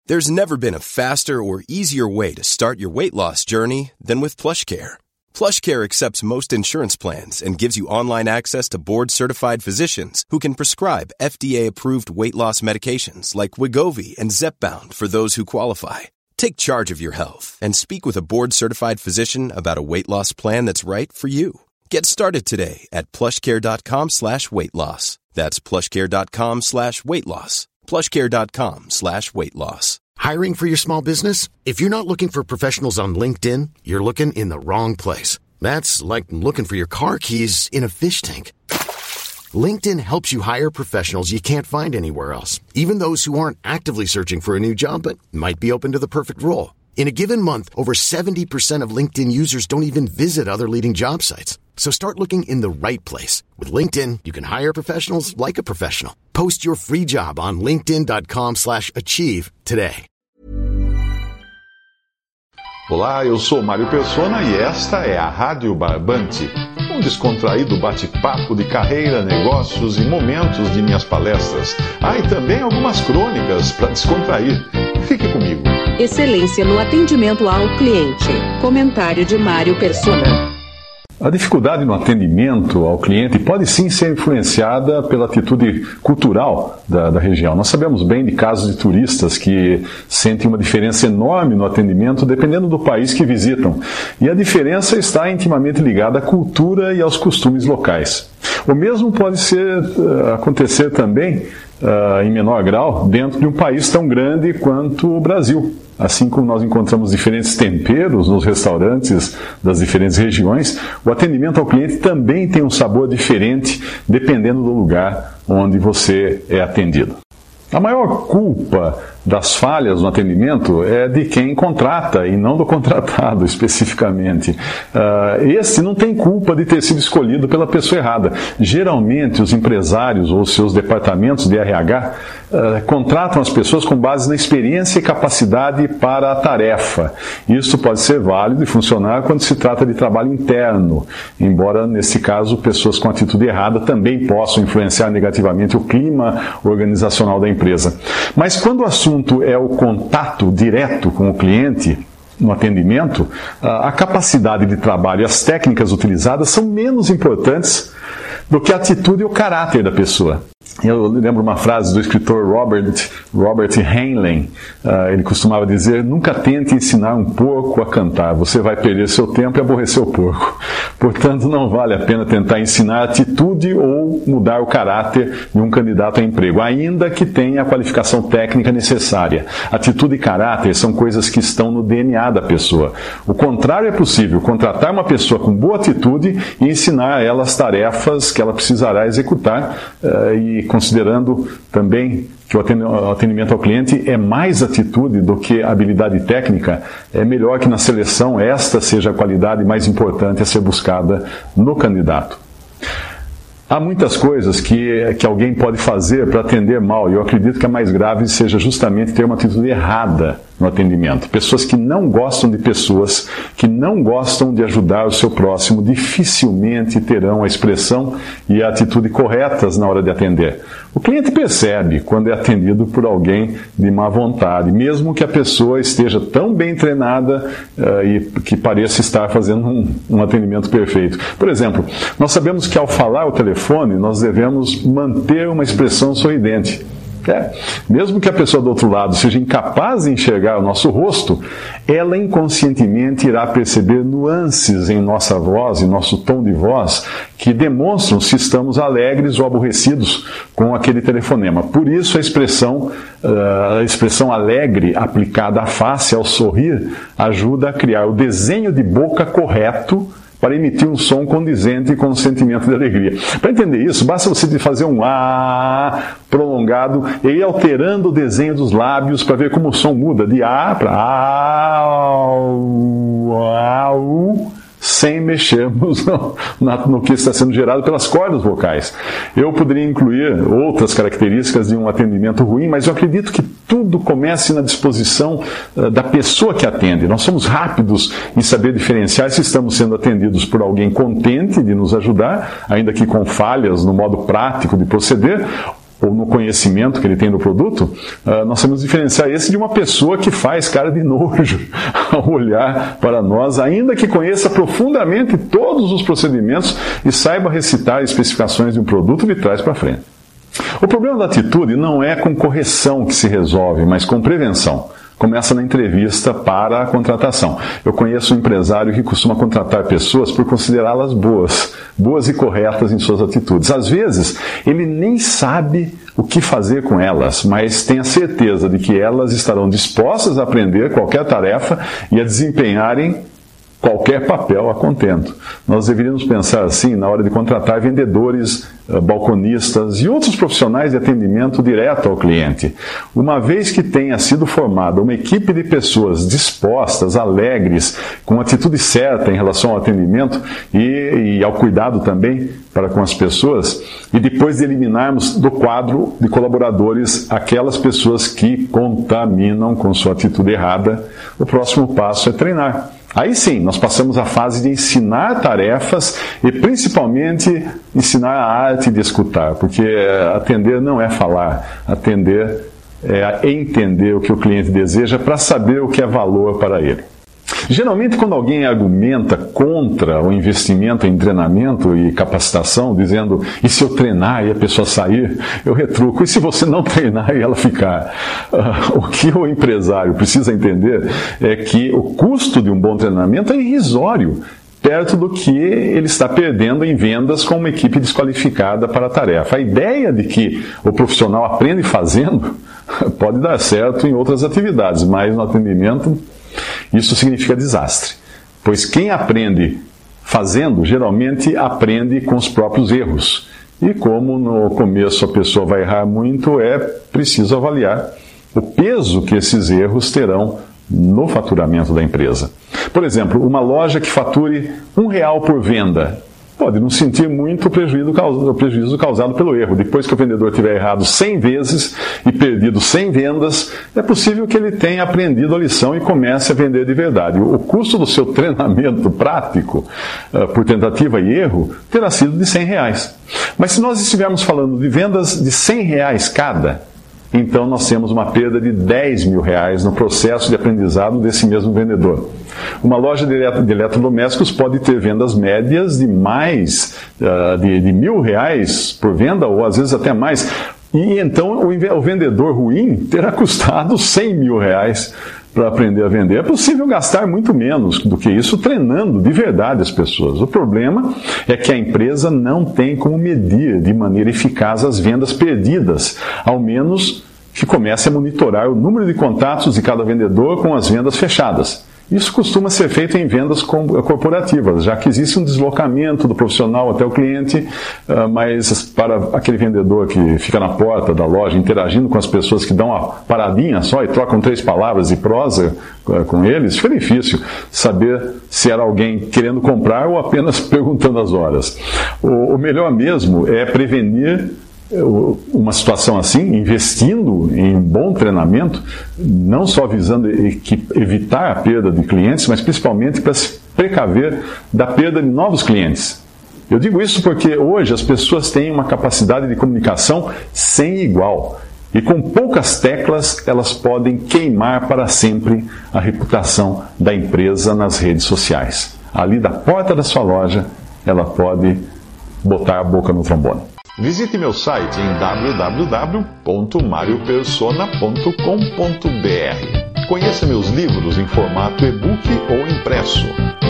There's never been a faster or easier way to start your weight loss journey than with PlushCare. PlushCare accepts most insurance plans and gives you online access to board-certified physicians who can prescribe FDA-approved weight loss medications like Wegovy and Zepbound for those who qualify. Take charge of your health and speak with a board-certified physician about a weight loss plan that's right for you. Get started today at plushcare.com/weight loss. That's plushcare.com/weight loss. plushcare.com/weight loss. Hiring for your small business? If you're not looking for professionals on LinkedIn, you're looking in the wrong place. That's like looking for your car keys in a fish tank. LinkedIn helps you hire professionals you can't find anywhere else, even those who aren't actively searching for a new job but might be open to the perfect role. In a given month, over 70% of LinkedIn users don't even visit other leading job sites. So start looking in the right place. With LinkedIn, you can hire professionals like a professional. Post your free job on linkedin.com/achieve today. Olá, eu sou Mário Persona e esta é a Rádio Barbante, um descontraído bate-papo de carreira, negócios e momentos de minhas palestras. E também algumas crônicas para descontrair. Fique comigo. Excelência no atendimento ao cliente. Comentário de Mário Persona. A dificuldade no atendimento ao cliente pode sim ser influenciada pela atitude cultural da região. Nós sabemos bem de casos de turistas que sentem uma diferença enorme no atendimento dependendo do país que visitam. E a diferença está intimamente ligada à cultura e aos costumes locais. O mesmo pode acontecer também, em menor grau, dentro de um país tão grande quanto o Brasil. Assim como nós encontramos diferentes temperos nos restaurantes das diferentes regiões, o atendimento ao cliente também tem um sabor diferente dependendo do lugar onde você é atendido. A maior culpa das falhas no atendimento é de quem contrata e não do contratado especificamente. Esse não tem culpa de ter sido escolhido pela pessoa errada. Geralmente os empresários ou seus departamentos de RH contratam as pessoas com base na experiência e capacidade para a tarefa. Isso pode ser válido e funcionar quando se trata de trabalho interno, embora nesse caso pessoas com atitude errada também possam influenciar negativamente o clima organizacional da empresa. Mas quando o assunto é o contato direto com o cliente, no atendimento, a capacidade de trabalho e as técnicas utilizadas são menos importantes do que a atitude e o caráter da pessoa. Eu lembro uma frase do escritor Robert Heinlein. Ele costumava dizer: nunca tente ensinar um porco a cantar, você vai perder seu tempo e aborrecer o porco. Portanto, não vale a pena tentar ensinar atitude ou mudar o caráter de um candidato a emprego, ainda que tenha a qualificação técnica necessária. Atitude e caráter são coisas que estão no DNA da pessoa. O contrário é possível: contratar uma pessoa com boa atitude e ensinar a ela as tarefas que ela precisará executar, e considerando também que o atendimento ao cliente é mais atitude do que habilidade técnica, é melhor que na seleção esta seja a qualidade mais importante a ser buscada no candidato. Há muitas coisas que alguém pode fazer para atender mal, e eu acredito que a mais grave seja justamente ter uma atitude errada no atendimento. Pessoas que não gostam de pessoas, que não gostam de ajudar o seu próximo, dificilmente terão a expressão e a atitude corretas na hora de atender. O cliente percebe quando é atendido por alguém de má vontade, mesmo que a pessoa esteja tão bem treinada e que pareça estar fazendo um atendimento perfeito. Por exemplo, nós sabemos que ao falar ao telefone, nós devemos manter uma expressão sorridente. Mesmo que a pessoa do outro lado seja incapaz de enxergar o nosso rosto, ela inconscientemente irá perceber nuances em nossa voz, em nosso tom de voz, que demonstram se estamos alegres ou aborrecidos com aquele telefonema. Por isso a expressão alegre aplicada à face ao sorrir ajuda a criar o desenho de boca correto para emitir um som condizente com o sentimento de alegria. Para entender isso, basta você fazer um A prolongado e ir alterando o desenho dos lábios para ver como o som muda de A para A, sem mexermos no que está sendo gerado pelas cordas vocais. Eu poderia incluir outras características de um atendimento ruim, mas eu acredito que tudo comece na disposição da pessoa que atende. Nós somos rápidos em saber diferenciar se estamos sendo atendidos por alguém contente de nos ajudar, ainda que com falhas no modo prático de proceder, ou no conhecimento que ele tem do produto, nós temos que diferenciar esse de uma pessoa que faz cara de nojo ao olhar para nós, ainda que conheça profundamente todos os procedimentos e saiba recitar especificações de um produto de trás para frente. O problema da atitude não é com correção que se resolve, mas com prevenção. Começa na entrevista para a contratação. Eu conheço um empresário que costuma contratar pessoas por considerá-las boas e corretas em suas atitudes. Às vezes, ele nem sabe o que fazer com elas, mas tem a certeza de que elas estarão dispostas a aprender qualquer tarefa e a desempenharem qualquer papel a contento. Nós deveríamos pensar assim na hora de contratar vendedores, balconistas e outros profissionais de atendimento direto ao cliente. Uma vez que tenha sido formada uma equipe de pessoas dispostas, alegres, com a atitude certa em relação ao atendimento e ao cuidado também para com as pessoas, e depois de eliminarmos do quadro de colaboradores aquelas pessoas que contaminam com sua atitude errada, o próximo passo é treinar. Aí sim, nós passamos a fase de ensinar tarefas e principalmente ensinar a arte de escutar, porque atender não é falar, atender é entender o que o cliente deseja para saber o que é valor para ele. Geralmente, quando alguém argumenta contra o investimento em treinamento e capacitação, dizendo, e se eu treinar e a pessoa sair, eu retruco, e se você não treinar e ela ficar? O que o empresário precisa entender é que o custo de um bom treinamento é irrisório, perto do que ele está perdendo em vendas com uma equipe desqualificada para a tarefa. A ideia de que o profissional aprende fazendo pode dar certo em outras atividades, mas no atendimento isso significa desastre, pois quem aprende fazendo, geralmente aprende com os próprios erros. E como no começo a pessoa vai errar muito, é preciso avaliar o peso que esses erros terão no faturamento da empresa. Por exemplo, uma loja que fature R$1 por venda pode não sentir muito o prejuízo causado pelo erro. Depois que o vendedor tiver errado 100 vezes e perdido 100 vendas, é possível que ele tenha aprendido a lição e comece a vender de verdade. O custo do seu treinamento prático por tentativa e erro terá sido de R$100. Mas se nós estivermos falando de vendas de R$100 cada, então nós temos uma perda de R$10 mil no processo de aprendizado desse mesmo vendedor. Uma loja de eletrodomésticos pode ter vendas médias de mais de R$1.000 por venda, ou às vezes até mais. E então o vendedor ruim terá custado R$100 mil para aprender a vender. É possível gastar muito menos do que isso treinando de verdade as pessoas. O problema é que a empresa não tem como medir de maneira eficaz as vendas perdidas, ao menos que comece a monitorar o número de contatos de cada vendedor com as vendas fechadas. Isso costuma ser feito em vendas corporativas, já que existe um deslocamento do profissional até o cliente, mas para aquele vendedor que fica na porta da loja interagindo com as pessoas que dão uma paradinha só e trocam 3 palavras de prosa com eles, fica difícil saber se era alguém querendo comprar ou apenas perguntando as horas. O melhor mesmo é prevenir uma situação assim, investindo em um bom treinamento, não só visando evitar a perda de clientes, mas principalmente para se precaver da perda de novos clientes. Eu digo isso porque hoje as pessoas têm uma capacidade de comunicação sem igual. E com poucas teclas elas podem queimar para sempre a reputação da empresa nas redes sociais. Ali da porta da sua loja, ela pode botar a boca no trombone. Visite meu site em www.mariopersona.com.br. Conheça meus livros em formato e-book ou impresso.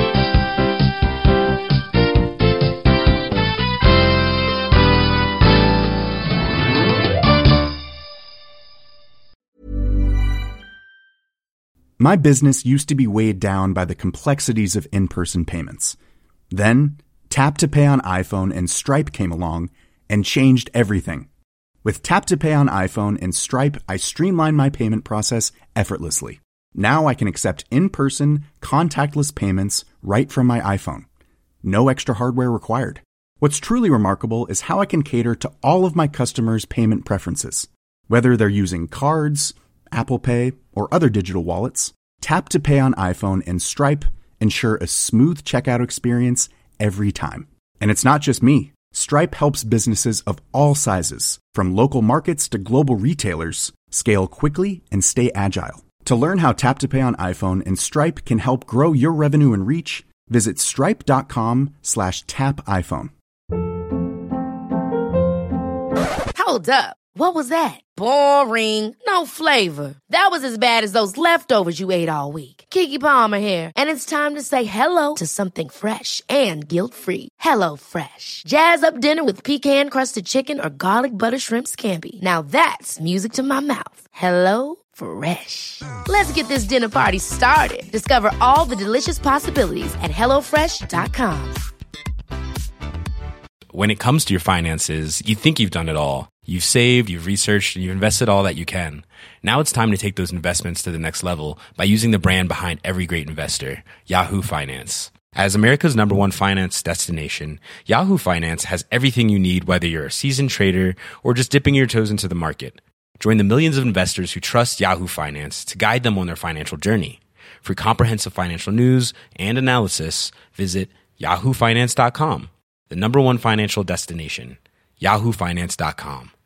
My business used to be weighed down by the complexities of in-person payments. Then, Tap to Pay on iPhone and Stripe came along and changed everything. With Tap to Pay on iPhone and Stripe, I streamlined my payment process effortlessly. Now I can accept in-person, contactless payments right from my iPhone. No extra hardware required. What's truly remarkable is how I can cater to all of my customers' payment preferences. Whether they're using cards, Apple Pay, or other digital wallets, Tap to Pay on iPhone and Stripe ensure a smooth checkout experience every time. And it's not just me. Stripe helps businesses of all sizes, from local markets to global retailers, scale quickly and stay agile. To learn how Tap to Pay on iPhone and Stripe can help grow your revenue and reach, visit stripe.com/tapiphone. Hold up. What was that? Boring. No flavor. That was as bad as those leftovers you ate all week. Keke Palmer here, and it's time to say hello to something fresh and guilt-free. Hello Fresh. Jazz up dinner with pecan-crusted chicken or garlic butter shrimp scampi. Now that's music to my mouth. Hello Fresh. Let's get this dinner party started. Discover all the delicious possibilities at HelloFresh.com. When it comes to your finances, you think you've done it all. You've saved, you've researched, and you've invested all that you can. Now it's time to take those investments to the next level by using the brand behind every great investor, Yahoo Finance. As America's #1 finance destination, Yahoo Finance has everything you need, whether you're a seasoned trader or just dipping your toes into the market. Join the millions of investors who trust Yahoo Finance to guide them on their financial journey. For comprehensive financial news and analysis, visit yahoofinance.com, the #1 financial destination, yahoofinance.com.